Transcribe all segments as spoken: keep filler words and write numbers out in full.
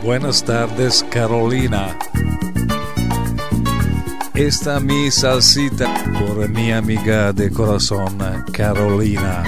Buenas tardes, Carolina. Esta mi salsita por mi amiga de corazón, Carolina.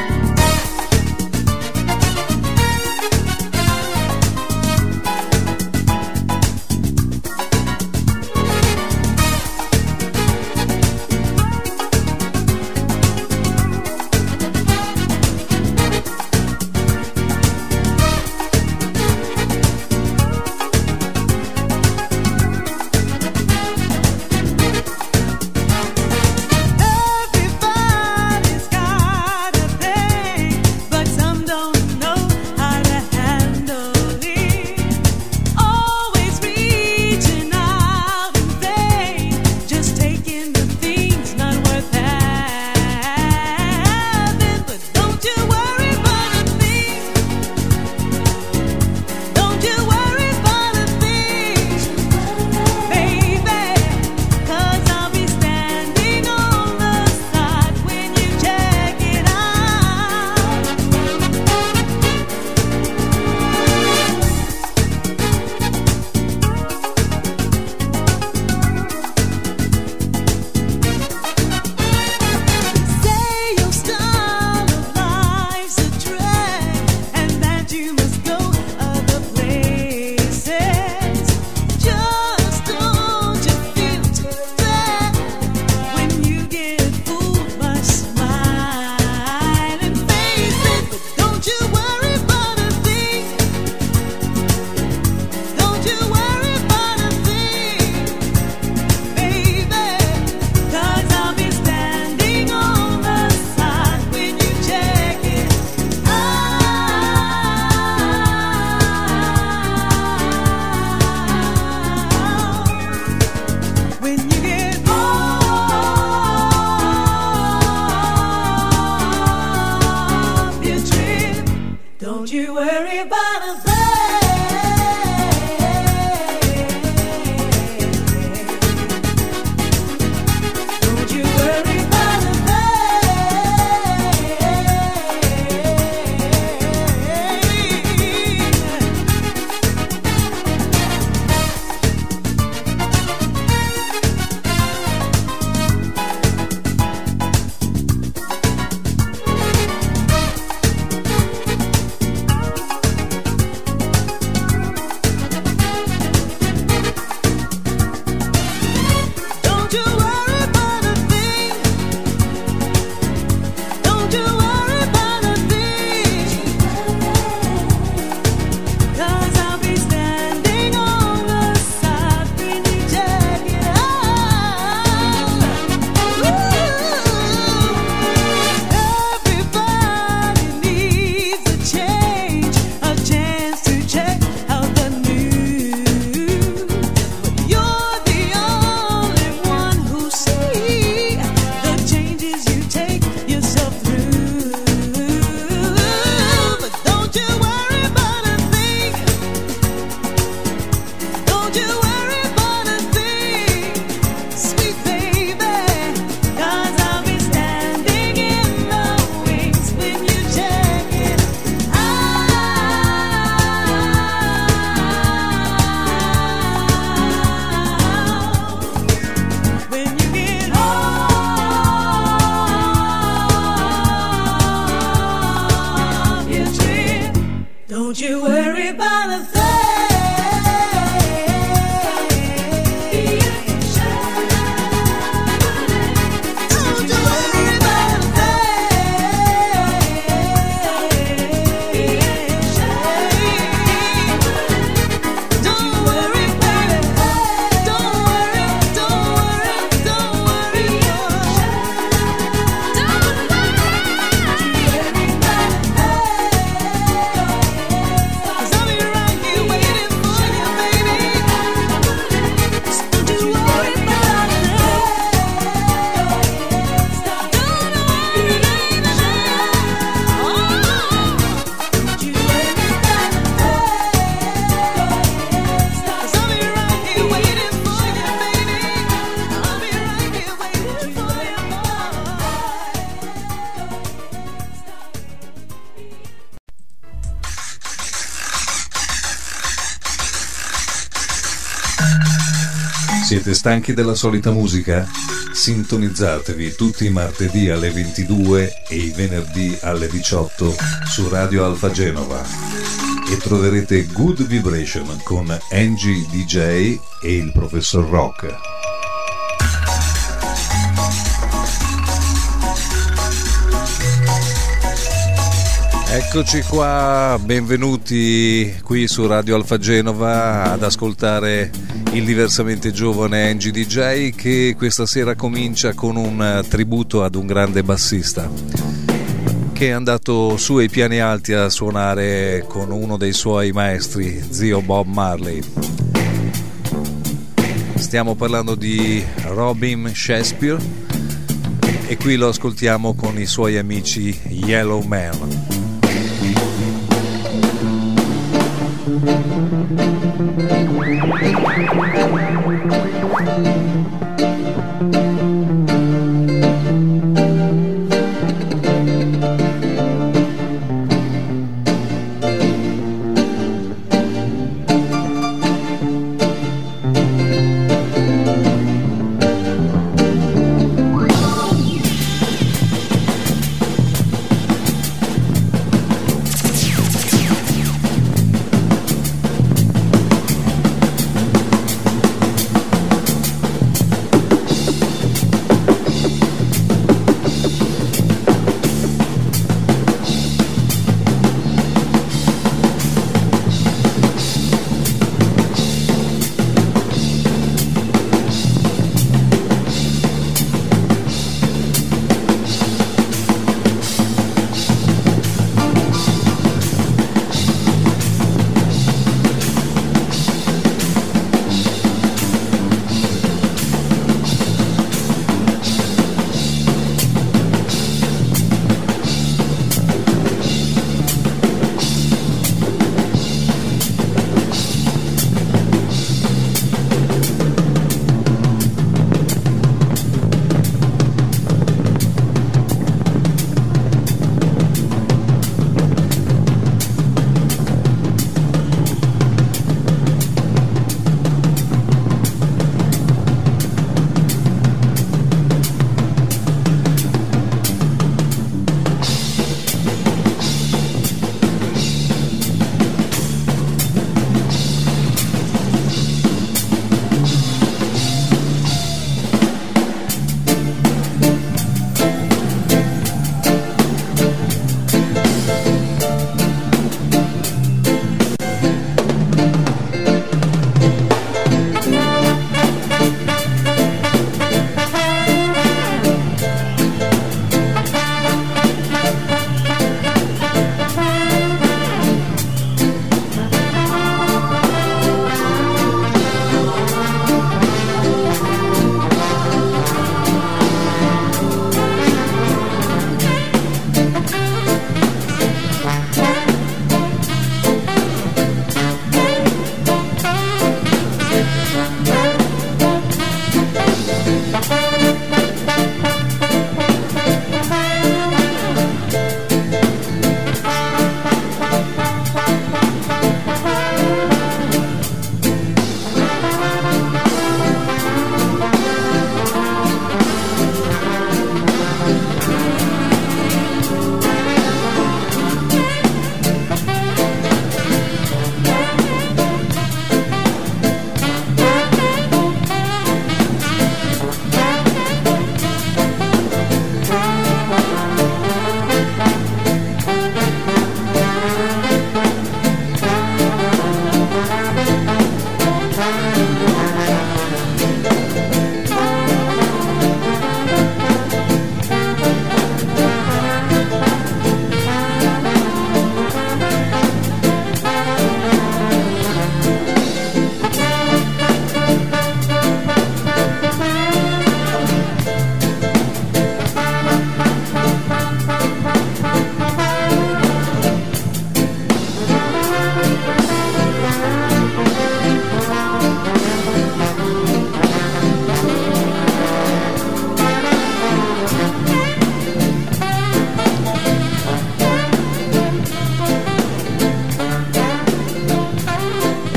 Siete stanchi della solita musica? Sintonizzatevi tutti i martedì alle ventidue e i venerdì alle diciotto su Radio Alfa Genova e troverete Good Vibration con Angie D J e il Professor Rock. Eccoci qua, benvenuti qui su Radio Alfa Genova ad ascoltare il diversamente giovane Angie D J, che questa sera comincia con un tributo ad un grande bassista che è andato su ai piani alti a suonare con uno dei suoi maestri, zio Bob Marley. Stiamo parlando di Robin Shakespeare e qui lo ascoltiamo con i suoi amici Yellow Man.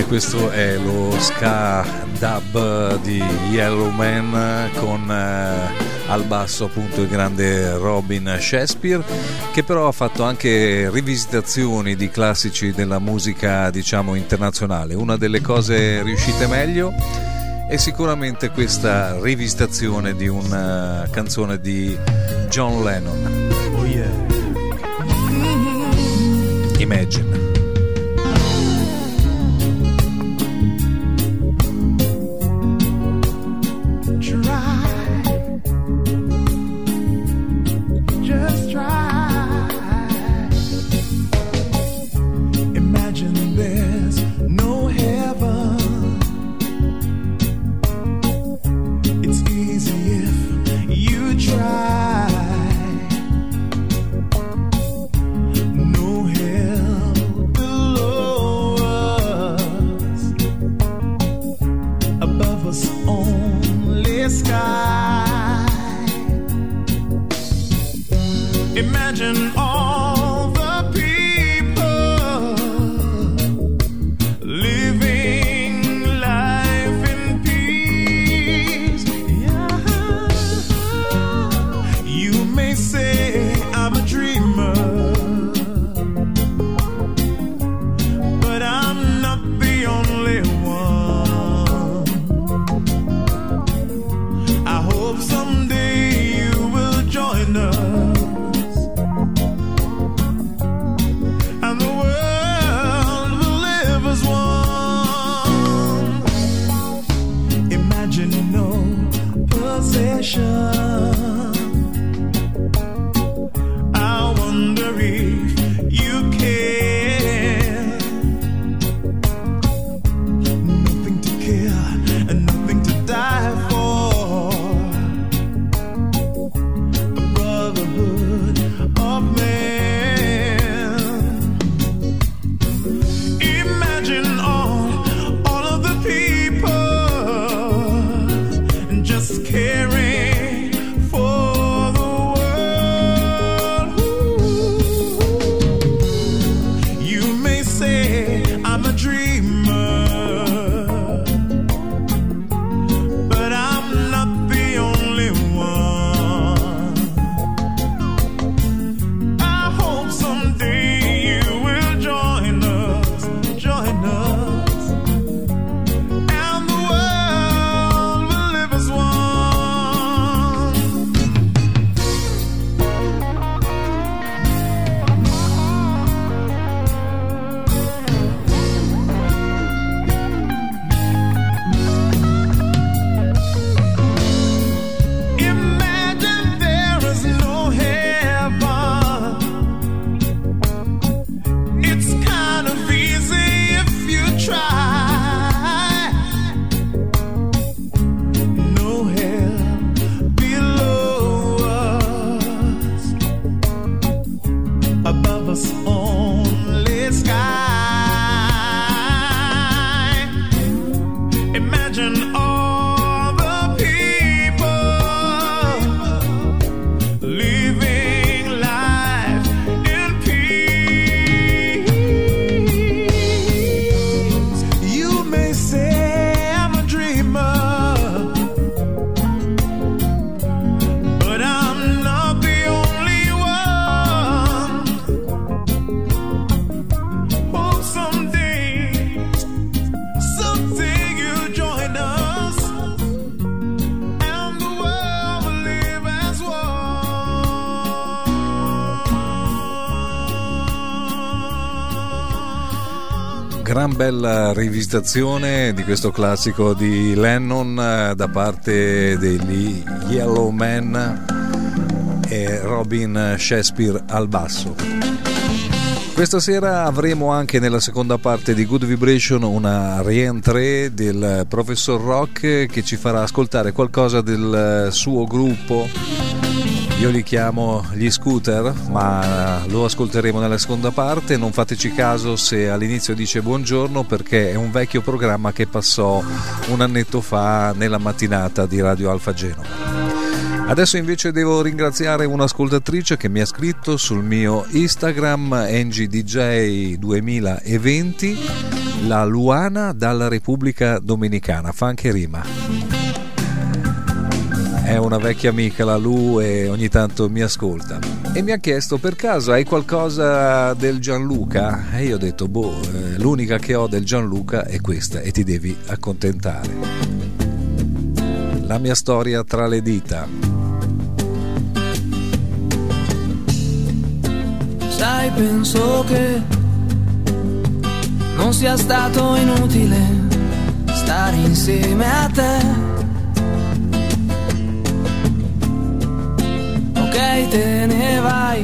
Questo è lo ska dub di Yellowman con eh, al basso appunto il grande Robin Shakespeare, che però ha fatto anche rivisitazioni di classici della musica, diciamo, internazionale. Una delle cose riuscite meglio è sicuramente questa rivisitazione di una canzone di John Lennon. Oh yeah. Imagine. Imagine all the people living life in peace. Yeah. You may say I'm a dreamer, but I'm not the only one. I hope someday you will join us. I wonder if you care. Nothing to care and nothing to die for. A brotherhood of man. Imagine all, all of the people just caring. Gran bella rivisitazione di questo classico di Lennon da parte degli Yellowman e Robin Shakespeare al basso. Questa sera avremo anche nella seconda parte di Good Vibration una rientrée del Professor Rock che ci farà ascoltare qualcosa del suo gruppo. Io li chiamo gli Scooter, ma lo ascolteremo nella seconda parte. Non fateci caso se all'inizio dice buongiorno, perché è un vecchio programma che passò un annetto fa nella mattinata di Radio Alfa Genova. Adesso invece devo ringraziare un'ascoltatrice che mi ha scritto sul mio Instagram N G D J duemilaventi La Luana dalla Repubblica Dominicana, fa anche rima. È una vecchia amica la Lu e ogni tanto mi ascolta e mi ha chiesto: per caso hai qualcosa del Gianluca? E io ho detto boh, l'unica che ho del Gianluca è questa e ti devi accontentare. La mia storia tra le dita. Sai, penso che non sia stato inutile stare insieme a te. Ok, te ne vai,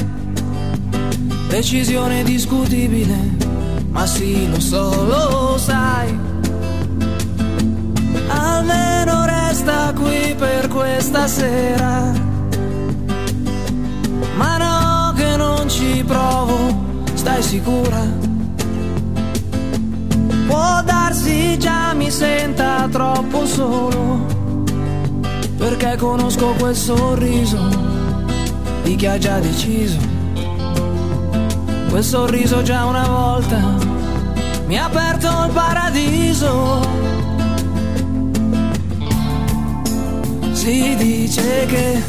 decisione discutibile, ma sì, lo so, lo sai. Almeno resta qui per questa sera. Ma no, che non ci provo, stai sicura? Può darsi già mi senta troppo solo, perché conosco quel sorriso di chi ha già deciso. Quel sorriso già una volta mi ha aperto il paradiso. Si dice che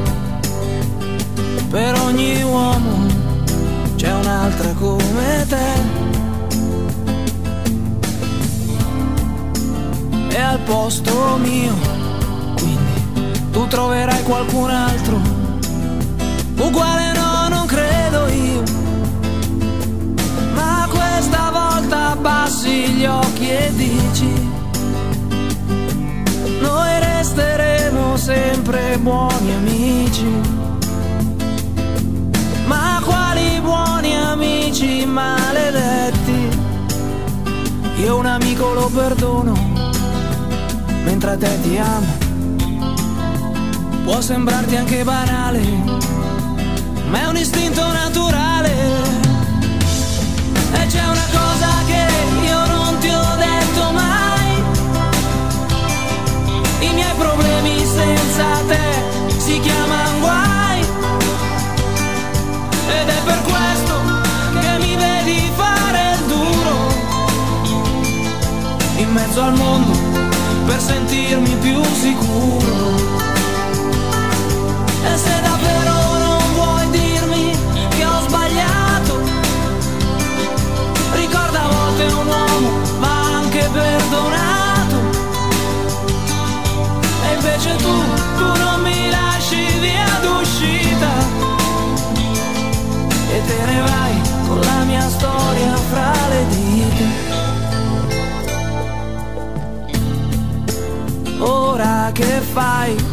per ogni uomo c'è un'altra come te, e al posto mio quindi tu troverai qualcun altro uguale. No, non credo io, ma questa volta abbassi gli occhi e dici: noi resteremo sempre buoni amici. Ma quali buoni amici maledetti? Io un amico lo perdono, mentre a te ti amo. Può sembrarti anche banale, ma è un istinto naturale. E c'è una cosa che io non ti ho detto mai: i miei problemi senza te si chiamano guai. Ed è per questo che mi vedi fare il duro in mezzo al mondo per sentirmi più sicuro. E se davvero non vuoi dirmi che ho sbagliato, ricorda, a volte un uomo va anche perdonato. E invece tu, tu non mi lasci via d'uscita e te ne vai con la mia storia fra le dita. Ora che fai?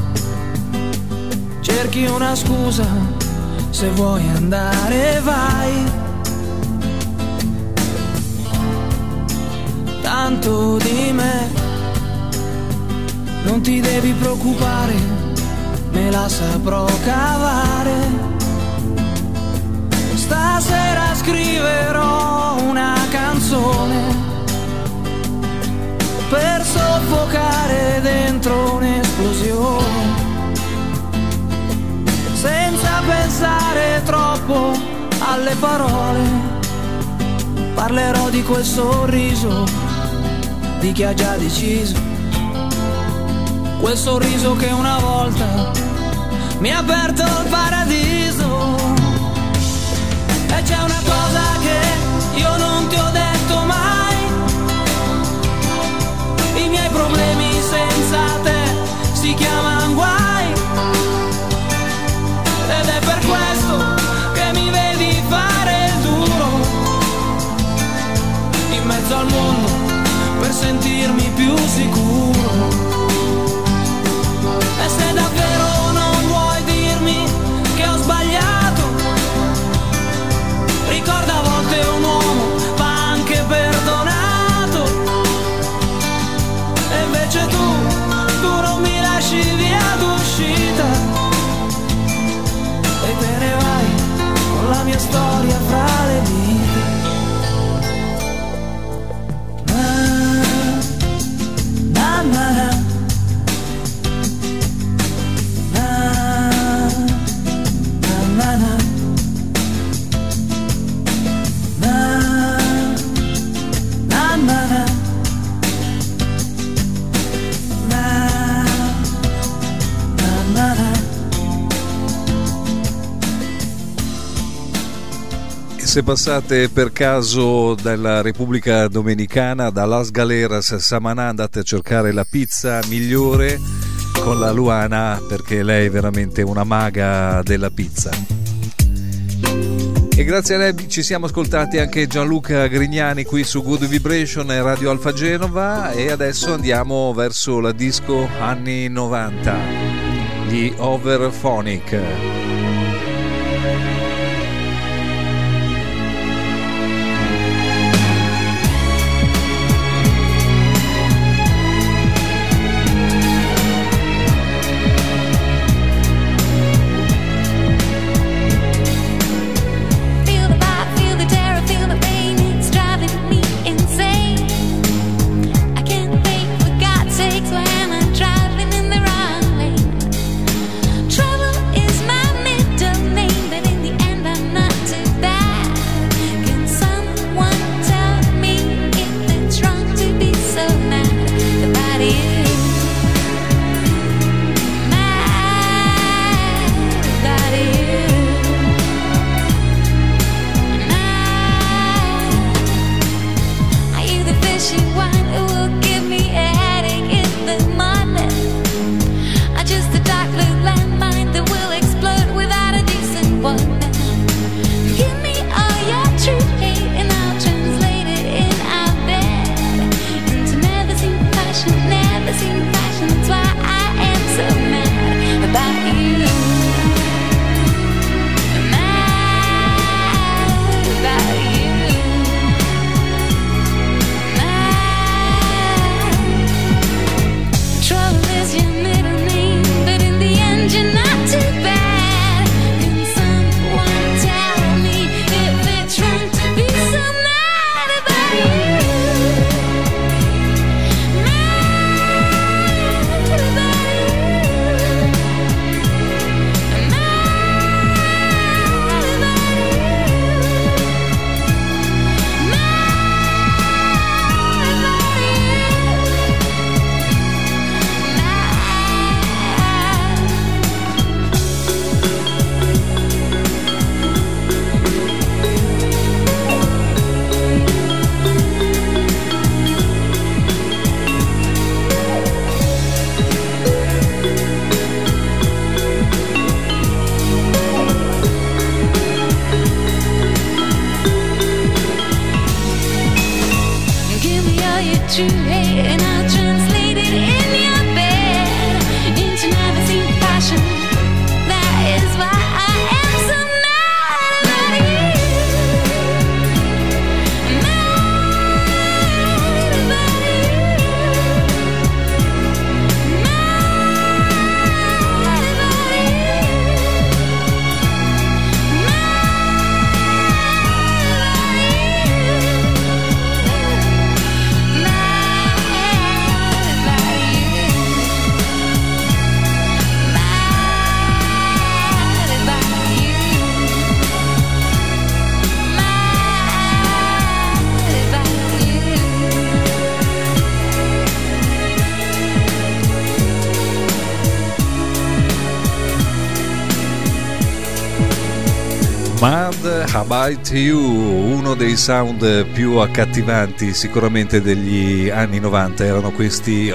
Cerchi una scusa, se vuoi andare vai. Tanto di me non ti devi preoccupare, me la saprò cavare. Stasera scriverò una canzone per soffocare dentro un'esplosione, senza pensare troppo alle parole. Parlerò di quel sorriso di chi ha già deciso, quel sorriso che una volta mi ha aperto il paradiso. E c'è una cosa che io non ti ho detto mai: i miei problemi senza te si chiamano guai. Ed è per questo che mi vedi fare il duro in mezzo al mondo per sentirmi più sicuro. E se davvero non vuoi dirmi che ho sbagliato, ricorda, a volte un uomo va anche perdonato. E invece tu, tu non mi lasci via d'uscita e te ne vai con la mia storia fra le dita. Na, na, na, se passate per caso dalla Repubblica Dominicana, da Las Galeras Samaná, andate a cercare la pizza migliore con la Luana, perché lei è veramente una maga della pizza. E grazie a lei ci siamo ascoltati anche Gianluca Grignani qui su Good Vibration e Radio Alfa Genova, e adesso andiamo verso la disco anni novanta, gli Overphonic. Mad About You, uno dei sound più accattivanti sicuramente degli anni novanta, erano questi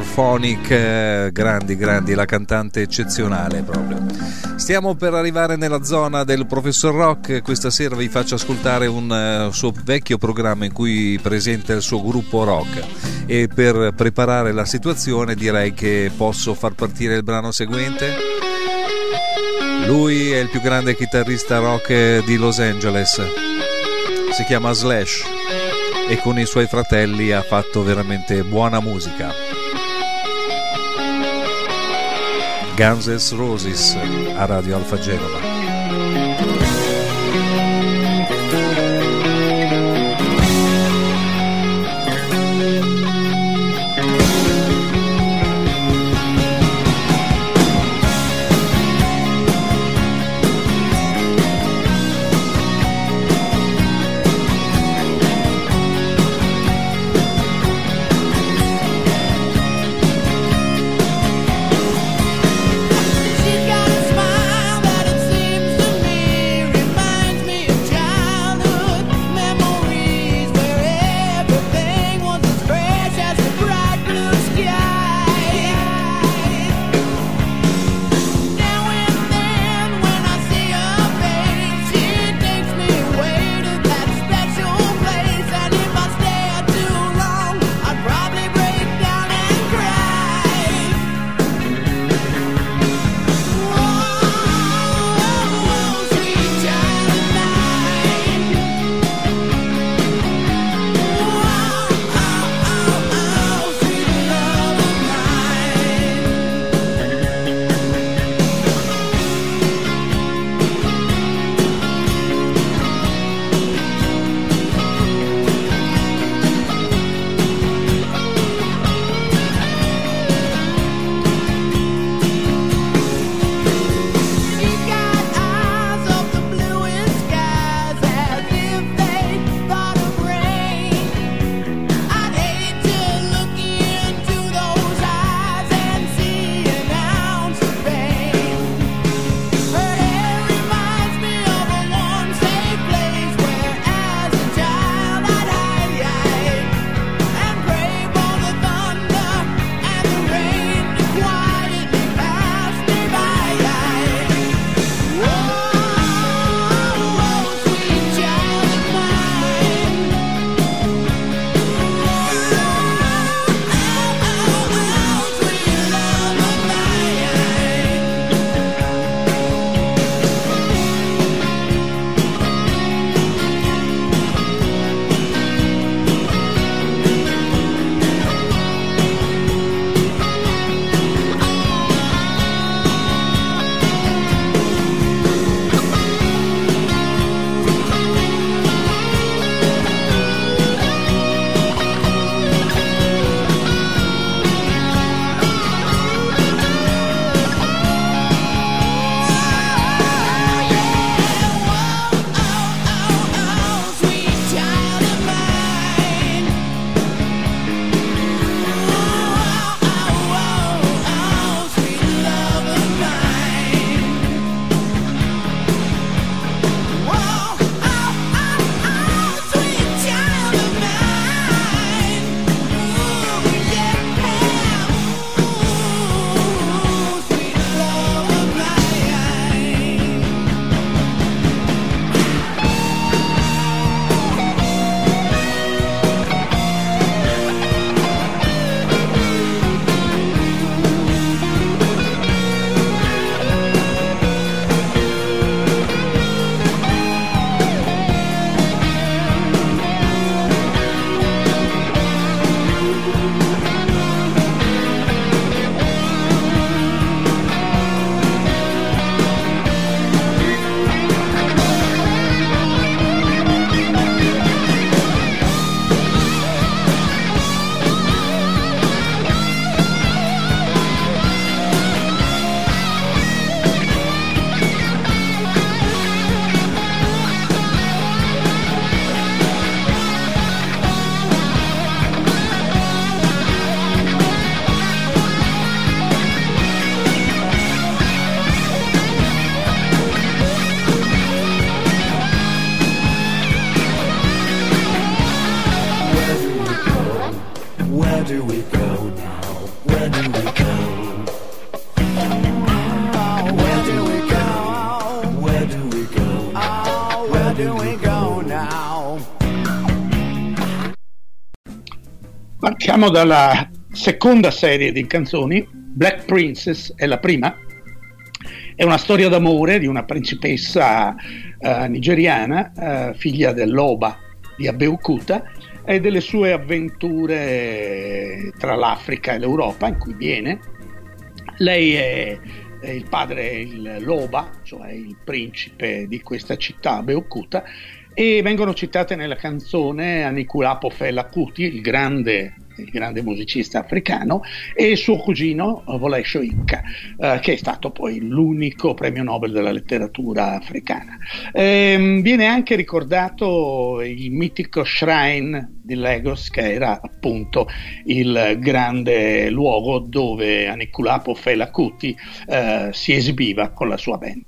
Overphonic, grandi grandi, la cantante eccezionale proprio. Stiamo per arrivare nella zona del Professor Rock. Questa sera vi faccio ascoltare un uh, suo vecchio programma in cui presenta il suo gruppo rock, e per preparare la situazione direi che posso far partire il brano seguente. Lui è il più grande chitarrista rock di Los Angeles, si chiama Slash e con i suoi fratelli ha fatto veramente buona musica. Guns N' Roses a Radio Alfa Genova. She's got a smile that it seems Where do we go now? Where do we go? Where do we go? Where do we go? Oh, where do we go now? Partiamo dalla seconda serie di canzoni. Black Princess è la prima. È una storia d'amore di una principessa uh, nigeriana, uh, figlia dell'Oba di Abeokuta, e delle sue avventure tra l'Africa e l'Europa in cui viene. Lei è, è il padre, il, l'Oba, cioè il principe di questa città Abeokuta, e vengono citate nella canzone Anikulapo Fela Kuti, il grande il grande musicista africano, e il suo cugino Wole Soyinka, eh, che è stato poi l'unico premio Nobel della letteratura africana. Eh, viene anche ricordato il mitico Shrine di Lagos, che era appunto il grande luogo dove Anikulapo Fela Kuti eh, si esibiva con la sua band.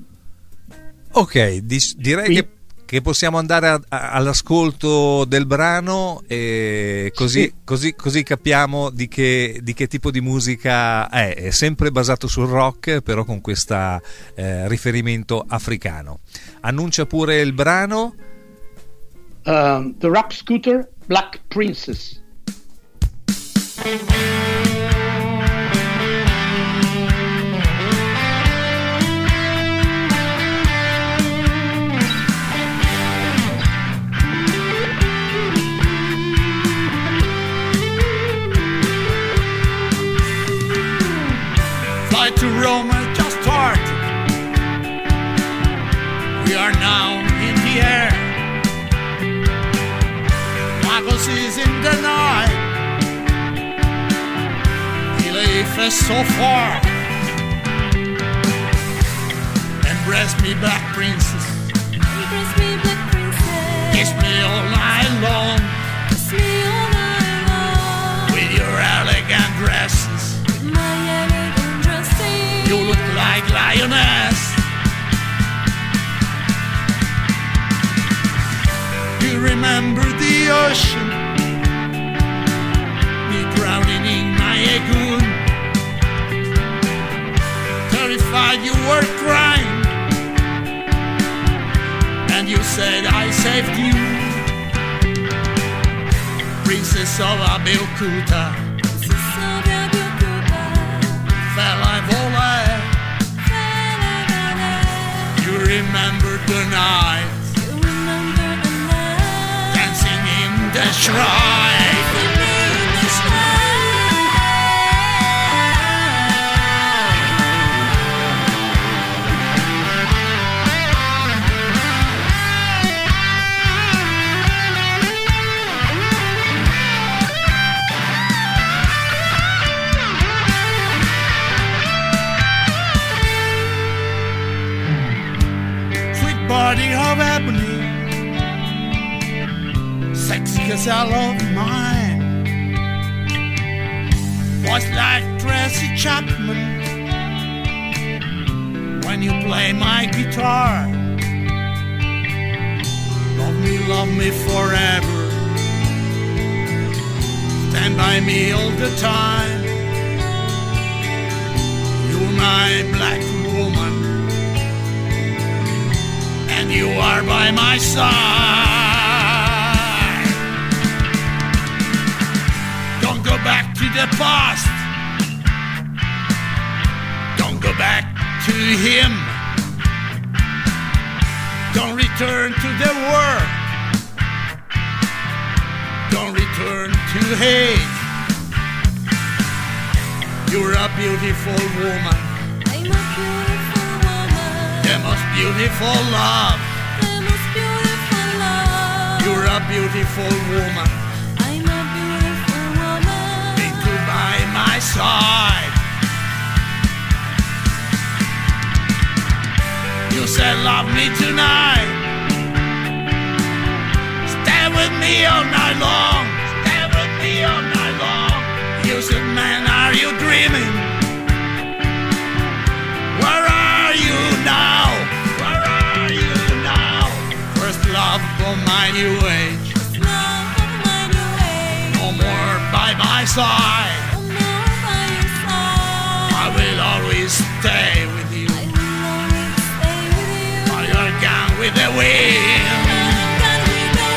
Ok, di- direi Qui- che che possiamo andare a, a, all'ascolto del brano, e così, sì. così, così capiamo di che, di che tipo di musica è. È sempre basato sul rock, però con questo eh, riferimento africano. Annuncia pure il brano. Uh, The Rap Scooter, Black Princess. To Rome just started. We are now in the air. Lagos is in the night. Life is so far. Embrace me, black princess. Embrace me, black princess. Kiss me all night long. Kiss me all night long. With your elegant dresses. My elegant dresses. You look like lioness. You remember the ocean, me drowning in my lagoon. Terrified you were crying, and you said I saved you. Princess of Abeokuta, Princess of Abeokuta. Fela Vole. You remember the night, You remember the night. dancing in the shrine. Sweet body of ebony, sexy gazelle of mine, voice like Tracy Chapman when you play my guitar. Love me, love me forever, stand by me all the time. You're my black woman, and you are by my side. Don't go back to the past. Don't go back to him. Don't return to the war. Don't return to hate. You're a beautiful woman, I'm a beautiful woman. the most beautiful love. The most beautiful love. You're a beautiful woman, I'm a beautiful woman. be to by my side. You said love me tonight. Stay with me all night long. Stay with me all night long. You said, man, are you dreaming? Where are you now? Where are you now? First love of my new age. Love of my new age. No more bye my side. I'm now by your side. I will always stay with you. I will always stay with you. While you're gone with the wind. I'm gone with the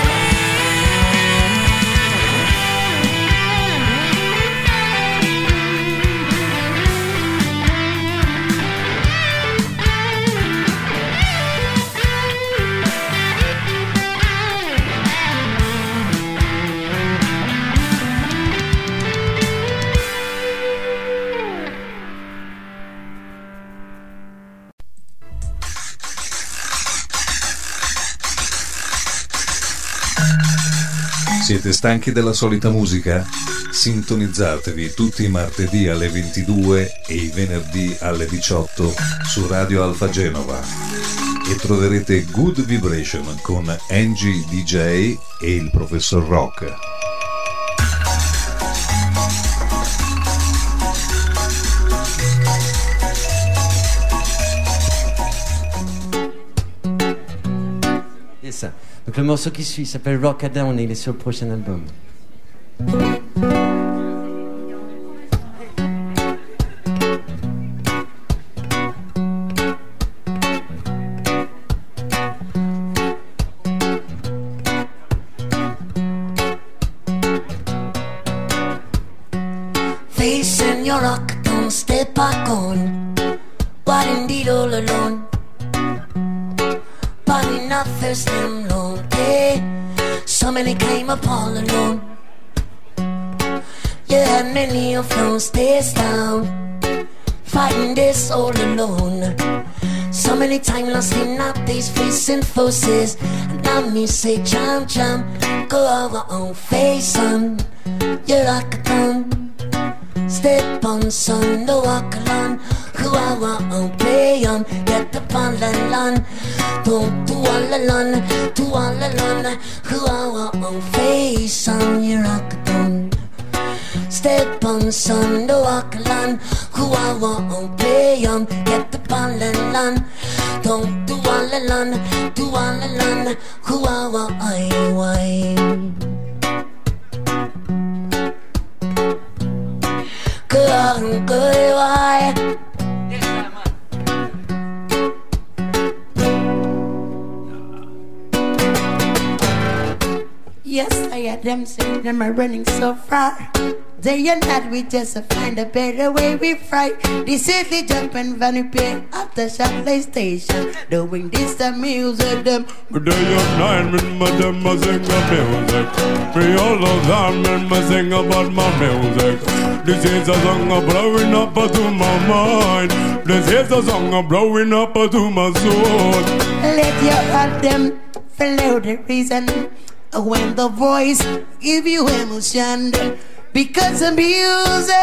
Siete stanchi della solita musica? Sintonizzatevi tutti i martedì alle ventidue e i venerdì alle diciotto su Radio Alfa Genova e troverete Good Vibration con Angie D J e il Professor Rock. C'est ça. Donc le morceau qui suit s'appelle Rockadam, il est sur le prochain album. Facing your rock, don't step back on. But indeed all alone. But enough is them long day. So many came up all alone. Yeah, many of them stays down, fighting this all alone. So many times lost in up these facing forces. And now me say jump, jump, go our own face on. You rock a gun. Step on, son, no walk alone. Who I want on, play on, get up on the lawn. Don't do all alone, do all alone. Who I want on, face on, you rock alone. Step on, son, no walk alone. Who I want on, play on, get up on the lawn. Don't do all alone, do all alone. Who I want, I want. Good on, good, why? Yes, I had them saying them are running so far. Day and night we just find a better way we fry. This is the jumping Vanny Pay at the Chapley station. Doing this the music them. But day and night when my them a sing a music. Me all of them when me sing about my music. This is a song of blowing up to my mind. This is a song of blowing up to my soul. Let your heart them follow the reason. When the voice give you emotion. Because the music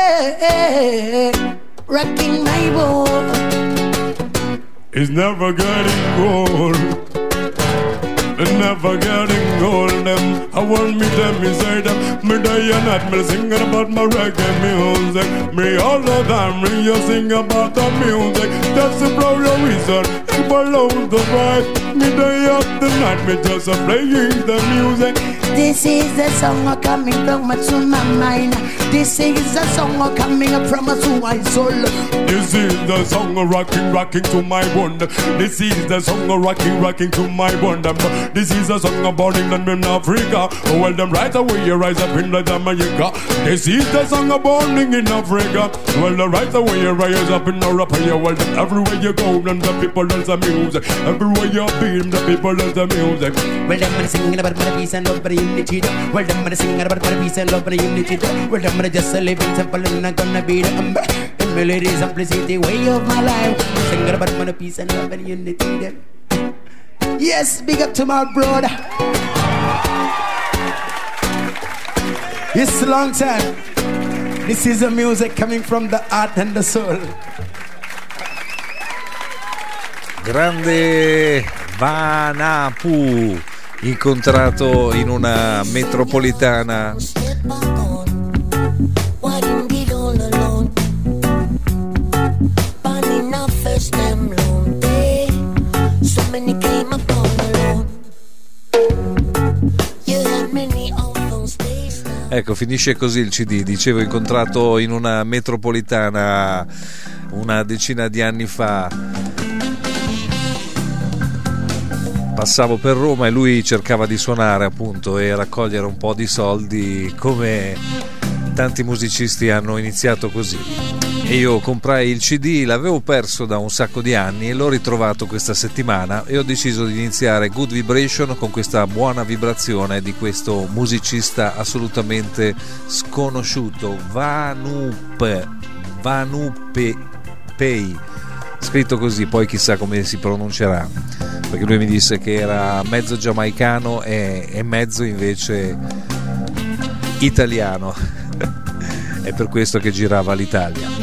rocking my boat. It's never getting old. It's never getting old. Them, I want me them, me say them. Me day and night, me singing about my reggae music. Me all the time, me you sing about the music. That's the blow your reason. It follow the vibe. Me day after night, me just a playing the music. This is a song coming from to my mind. This is a song coming from to my soul. This is the song rocking, rocking to my bone. This is the song rocking, rocking to my bone. This is a song about England and Africa. Well, them right away you rise up in the Jamaica. This is the song about in Africa. Well, the right away you rise up in Europe. Well, then everywhere you go, then the people dance the music. Everywhere you be, the people dance the music. Well, them are singing about my peace and love, but unity. Well, them are singing about my peace and love, but unity. Well, them are just a living simple and I'm gonna be the umber. The melody, simplicity, way of my life. Singing about my peace and love, and unity. Yes, big up to my brother. It's a long time. This is the music coming from the heart and the soul. Grande Vanapu, incontrato in una metropolitana. Ecco, finisce così il C D. Dicevo, incontrato in una metropolitana una decina di anni fa. Passavo per Roma e lui cercava di suonare, appunto, e raccogliere un po' di soldi, come tanti musicisti hanno iniziato così. E io comprai il C D, l'avevo perso da un sacco di anni e l'ho ritrovato questa settimana e ho deciso di iniziare Good Vibration con questa buona vibrazione di questo musicista assolutamente sconosciuto, Vanup Vanupe Pei, scritto così, poi chissà come si pronuncerà, perché lui mi disse che era mezzo giamaicano e, e mezzo invece italiano. È per questo che girava l'Italia.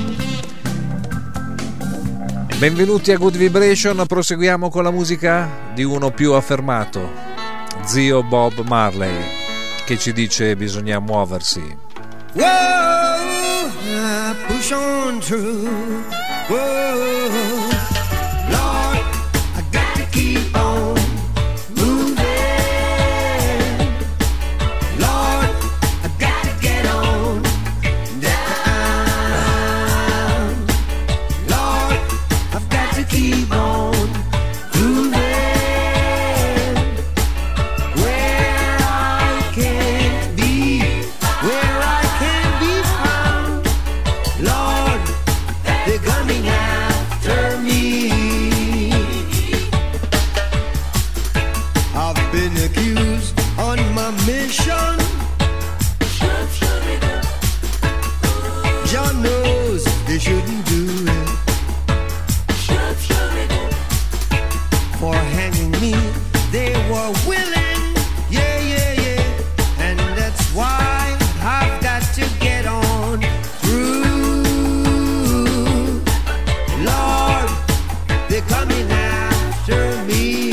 Benvenuti a Good Vibration, proseguiamo con la musica di uno più affermato, zio Bob Marley, che ci dice bisogna muoversi. Whoa, push on through. Whoa, Lord, I got to keep on moving. Lord, I got to get on down. Lord, I've got to keep on moving. Where I can't be, where I can't be found. Lord, they're coming after me. I've been accused on my mission. John knows they shouldn't do it. For hanging me, they were willing. Yeah, yeah, yeah. And that's why I've got to get on through. Lord, they're coming after me.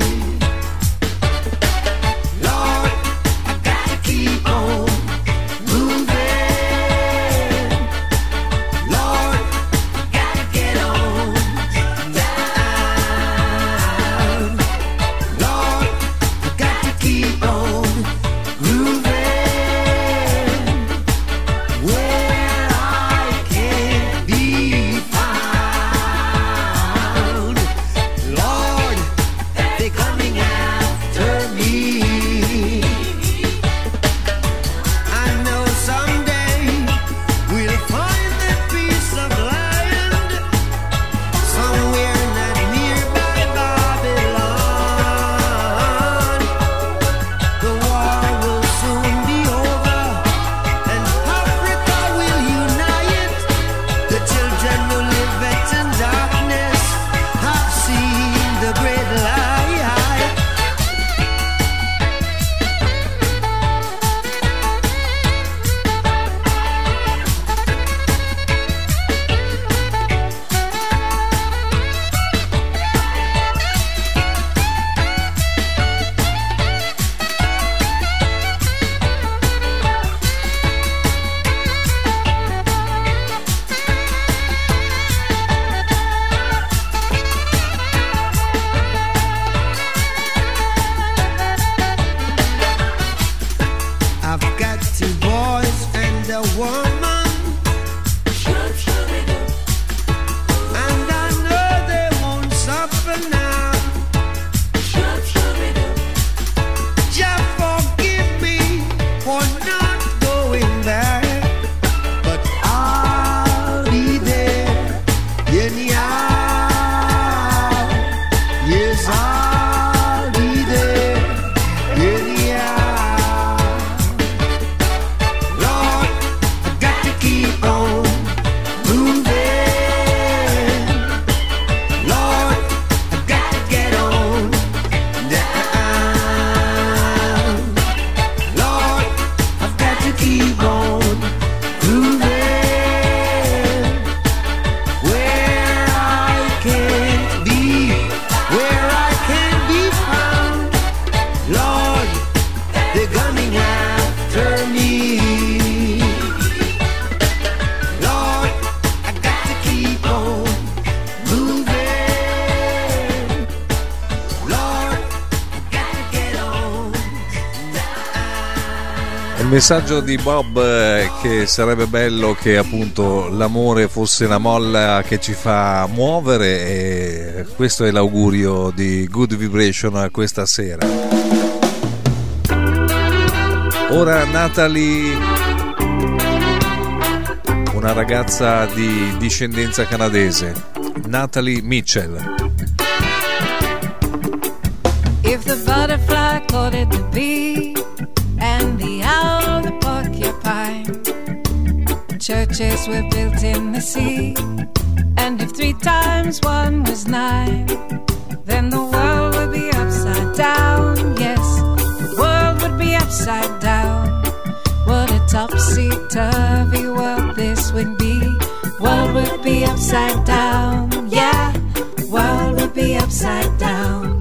Lord, I got to keep on moving. Lord, I got to get on down. Lord, I got to keep on moving. Where I can't be found. Lord, they're coming after me. I know someday we'll find that piece of land somewhere not nearby Babylon. The war will soon be over and Africa will unite. The children who live in darkness have seen the great light. I've got two boys and a woman, and I know they won't suffer now. Just forgive me for not going back, but I'll be there anyhow. Yes, I'll be there anyhow. Lord, I got to Il messaggio di Bob è che sarebbe bello che appunto l'amore fosse una molla che ci fa muovere, e questo è l'augurio di Good Vibration a questa sera. Ora Natalie, una ragazza di discendenza canadese, Natalie Mitchell. If the butterfly called it the bee, and the owl the porcupine, churches were built in the sea, and if three times one was nine, then the world would be upside down. Yes, the world would be upside down. What a topsy-turvy world this would be. World would be upside down. Yeah, world would be upside down.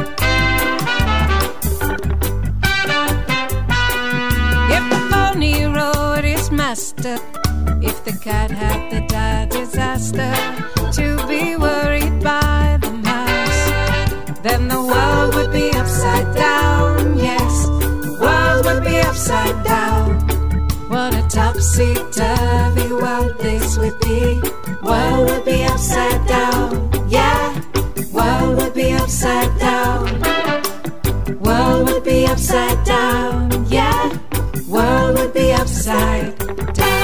Master, if the cat had the dire disaster to be worried by the mouse, then the world would be upside down. Yes, the world would be upside down. What a topsy-turvy world this would be. World would be upside down. Yeah, world would be upside down. World would be upside down. Yeah, world would be upside down.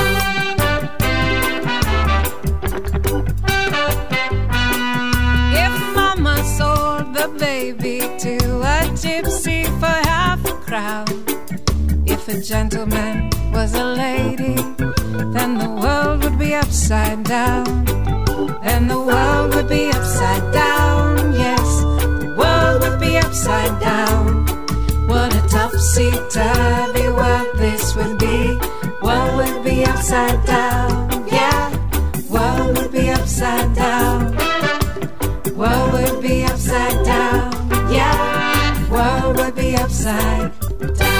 If mama sold the baby to a gypsy for half a crown, if a gentleman was a lady, then the world would be upside down. Then the world would be upside down. Yes, the world would be upside down. What a topsy-turvy world this would be. World would be upside down. Yeah, world would be upside down. World would be upside down. Yeah, world would be upside down.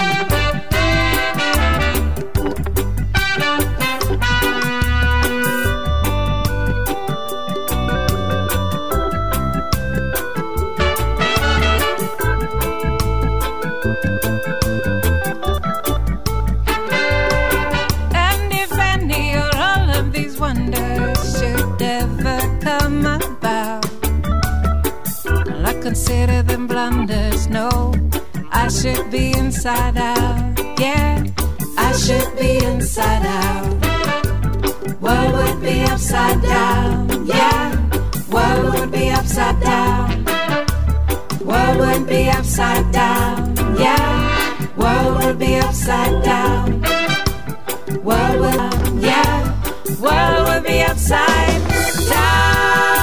Consider them blunders. No, I should be inside out. Yeah, I should be inside out. World would be upside down. Yeah, world would be upside down. World would be upside down. Yeah, world would be upside down. World would, yeah, world would be upside down.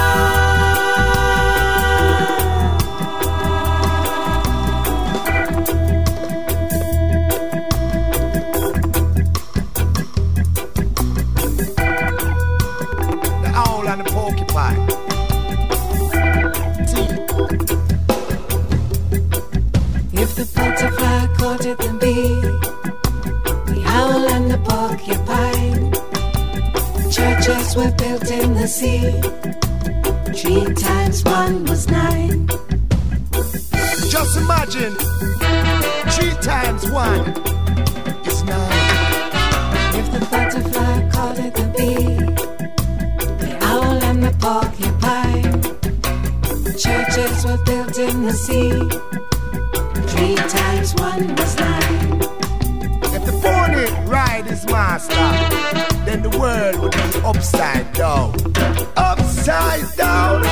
If the butterfly courted the bee, the owl and the porcupine, churches were built in the sea, three times one was nine. Just imagine, three times one is nine. If the butterfly courted the bee, the owl and the porcupine, churches were built in the sea, three times one was nine. If the pony ride his master, then the world would be upside down. Upside down.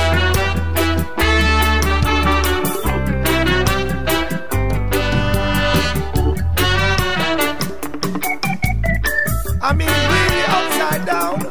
I mean, really upside down.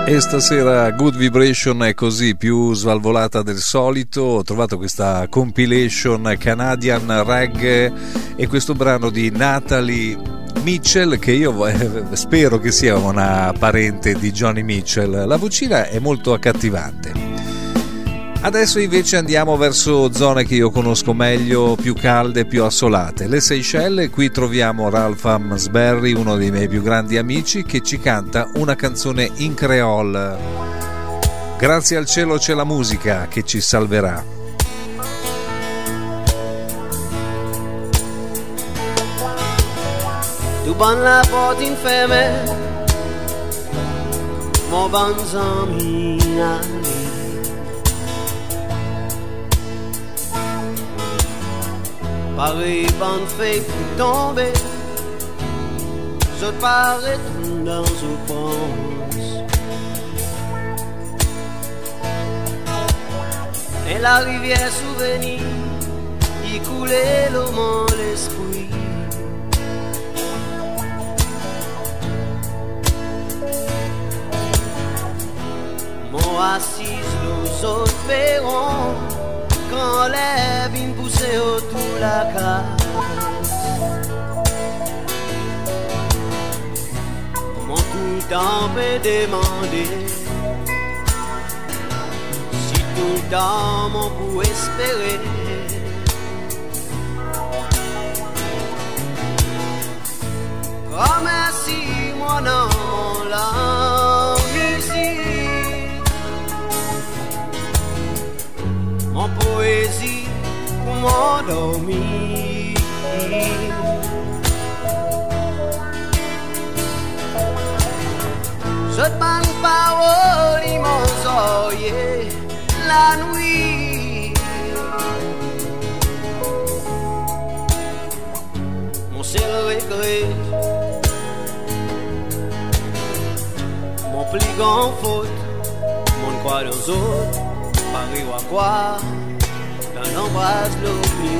E stasera Good Vibration è così, più svalvolata del solito. Ho trovato questa compilation Canadian Reggae e questo brano di Natalie Mitchell, che io eh, spero che sia una parente di Johnny Mitchell. La vocina è molto accattivante. Adesso invece andiamo verso zone che io conosco meglio, più calde, più assolate, le Seychelles. Qui troviamo Ralph Amsberry, uno dei miei più grandi amici, che ci canta una canzone in creole. Grazie al cielo c'è la musica che ci salverà. Tu ban la porte inferme, mon bon ami. Paris, bonne fée pour tomber, je parais dans une pense. Et la rivière souvenir, y coulait le mon l'esprit. Moi assise aux autres perrons, quand les vignes poussaient autour de la case. Mon tout le temps peut demander si tout le temps mon pour espérer. Comme si mon nom la musique, mon poésie pour m'endormir. Je te parle parole, immense oreiller, la nuit. Mon seul regret, mon plus grand faute, mon croix dans autres, Paris ou à quoi, dans l'embrasse le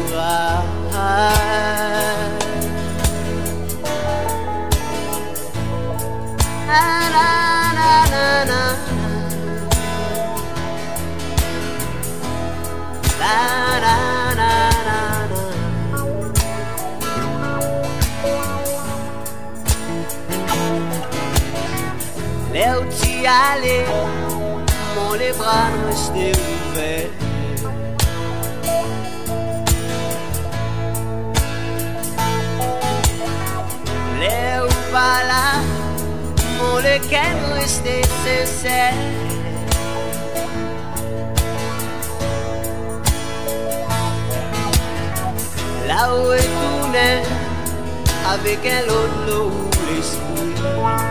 miracle. Na na na na na, na na na na. Là où t'y allais, mon les bras nous restaient ouverts. Là où pas là, mon lequel restait sincère. Là où est tourné avec un autre lot l'esprit.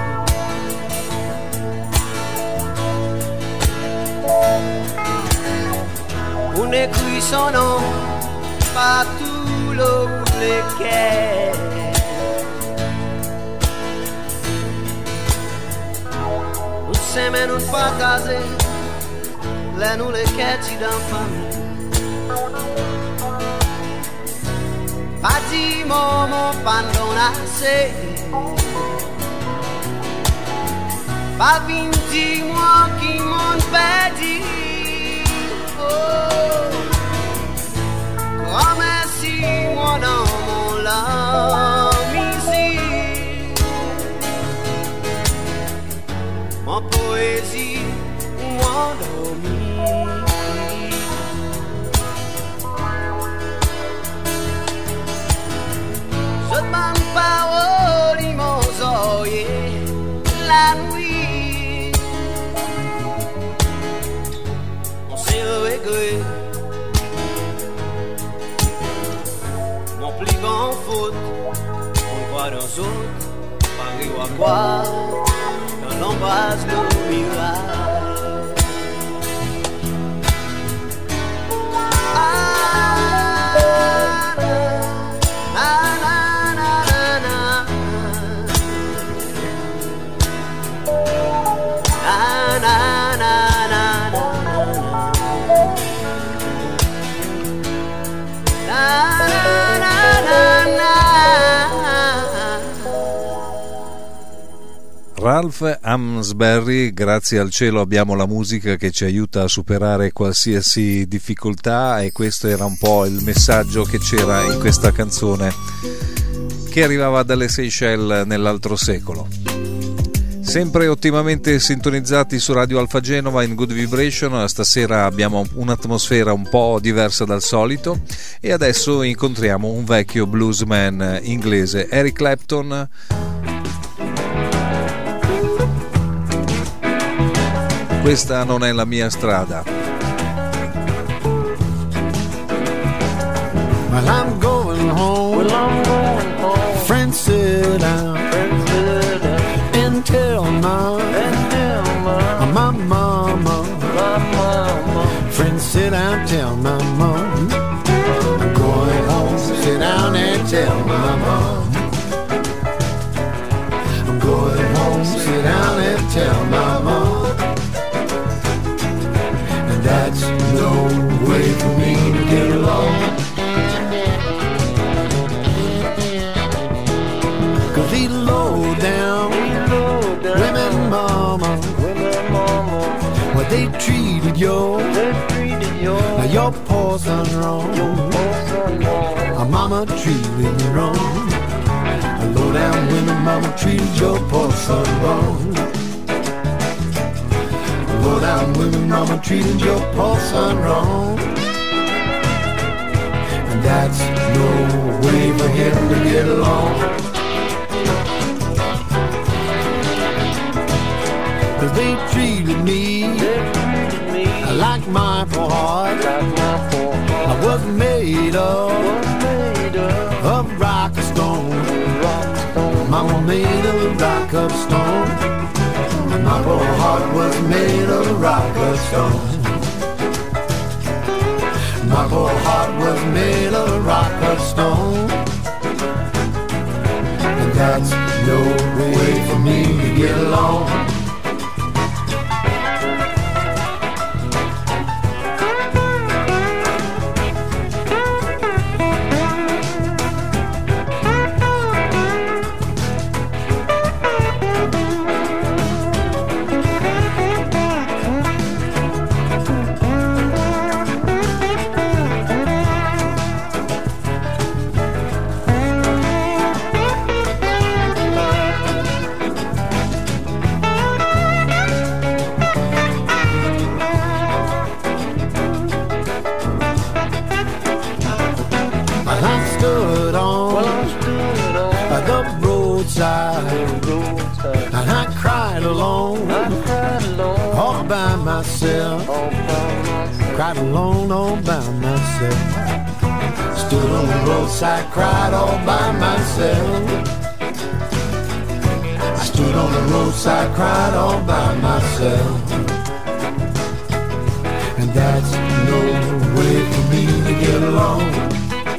On écrit son nom partout là où lequel. Mais nous pas caser, là nous les quêtes dans famille. Pas dit maman, pas d'onacé. Pas vin dis-moi qui m'ont perdu. Oh, grand merci moi dans mon l'ami ici. Mon poésie ou m'endormir. Je demande parole, immense oreiller, la nuit. On s'est regret, mon plus grand faute, on croit dans autres, Paris ou à quoi. L'embrasse le miracle. Ah, na, na, na, na, na. Na, na, na, na, na. Na, na, na, na, na. Ralph Amsberry, grazie al cielo abbiamo la musica che ci aiuta a superare qualsiasi difficoltà, e questo era un po' il messaggio che c'era in questa canzone che arrivava dalle Seychelles nell'altro secolo. Sempre ottimamente sintonizzati su Radio Alfa Genova in Good Vibration. Stasera abbiamo un'atmosfera un po' diversa dal solito e adesso incontriamo un vecchio bluesman inglese, Eric Clapton. Questa non è la mia strada. Well, I'm going home. Well, I'm going home. Friends, sit down. Friends, sit down. And tell mom. And tell mom. My mama. My mama. Friends, sit down. Tell my mom. I'm going home. Sit down and tell my mom. I'm going home. Sit down and tell my mom. And that's no way for me to get along. These low down, low down women, mama, women, mama, what they treated you, they treated you. Now your poor son wrong, your poor son wrong. A mama treated you wrong. A low down women, mama treated your poor son wrong. A low down women, mama treated your poor son wrong. And that's no way for him to get along. Cause they treated me, they treated me like my poor heart. Like my poor heart. I was made of, was made of, of rock or stone. Rock stone. Mama made of rock of stone. And my poor heart was made of rock of stone. My poor heart was made of rock of stone. And that's no way for me to get along. And I cried alone, I cried alone, all by myself, all by myself. Cried alone, all by myself. Stood on the roadside, cried all by myself. I stood on the roadside, cried all by myself. And that's no way for me to get along.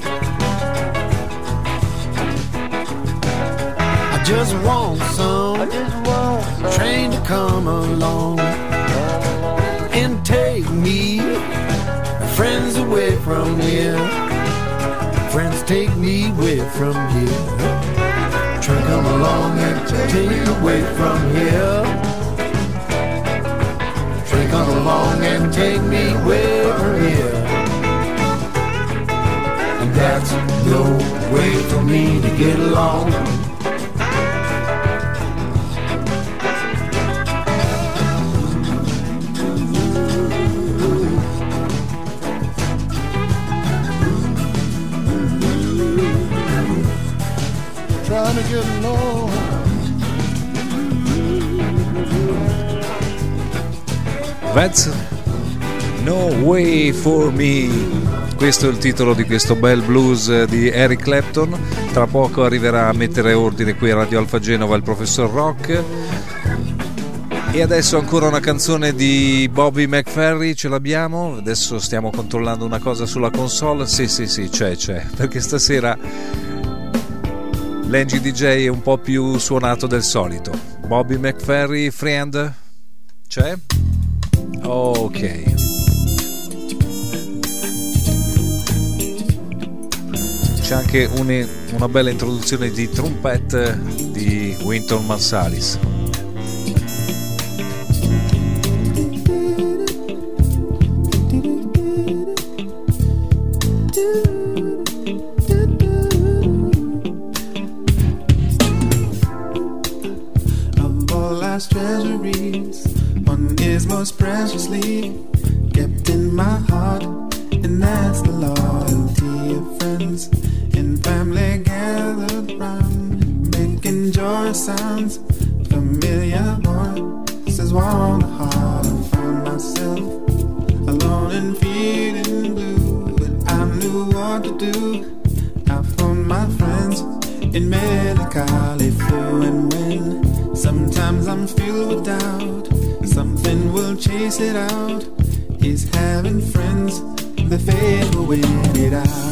I just want some, I just want some train to come along, come along and take me, friends, away from here. Friends, take me away from here. Train come along and take me away from here. Train come along and take me away from here. And that's no way for me to get along. Trying to get along. That's no way for me. Questo è il titolo di questo bel blues di Eric Clapton. Tra poco arriverà a mettere ordine qui a Radio Alfa Genova il professor Rock. E adesso ancora una canzone di Bobby McFerrin, ce l'abbiamo? Adesso stiamo controllando una cosa sulla console. Sì, sì, sì, c'è, c'è. Perché stasera l'N G D J è un po' più suonato del solito. Bobby McFerrin, Friend, c'è? Ok. C'è anche un, una bella introduzione di trompette di Wynton Marsalis. all life's treasuries. One is most preciously kept in my heart, and that's the loyalty of friends and family gathered round, making joy sounds familiar voices warm the heart. I found myself alone and feeling blue, but I knew what to do. I phoned my friends in melancholy flew, and when sometimes I'm filled with doubt, something will chase it out. Is having friends, the fate will win it out.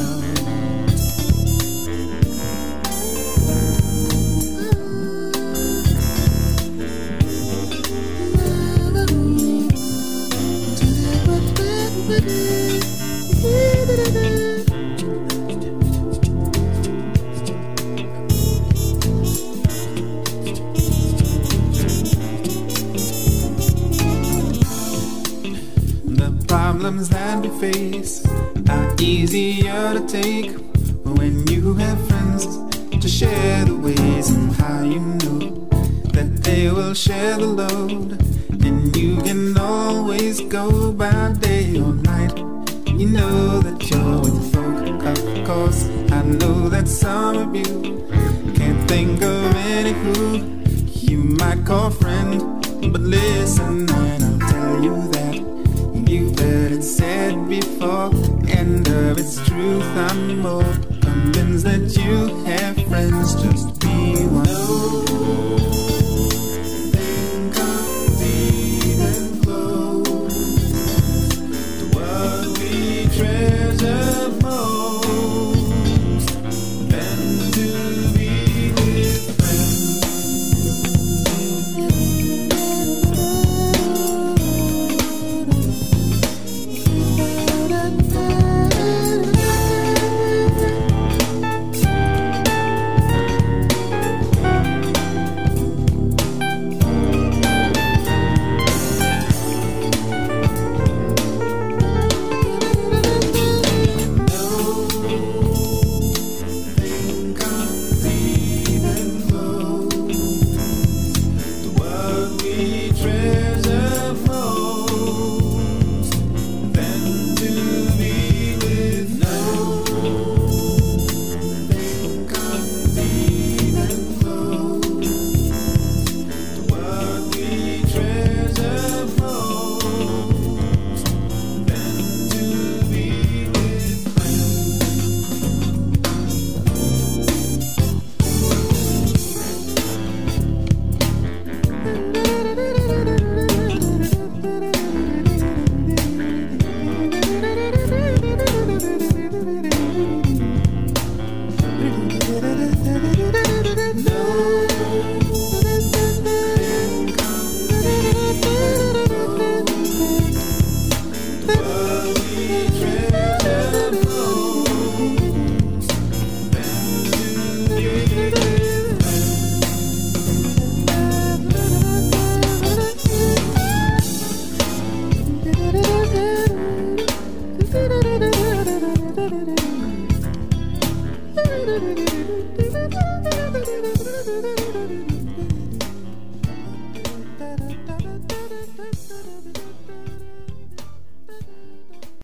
Problems that we face are easier to take when you have friends to share the ways, and how you know that they will share the load, and you can always go by day or night. You know that you're with folk, of course. I know that some of you can't think of any who you might call friend, but listen and I'll tell you that you've heard it said before, and of its truth I'm more convinced that you have friends. Just be one. Nothing comes even close to what we treasure most than to be with friends.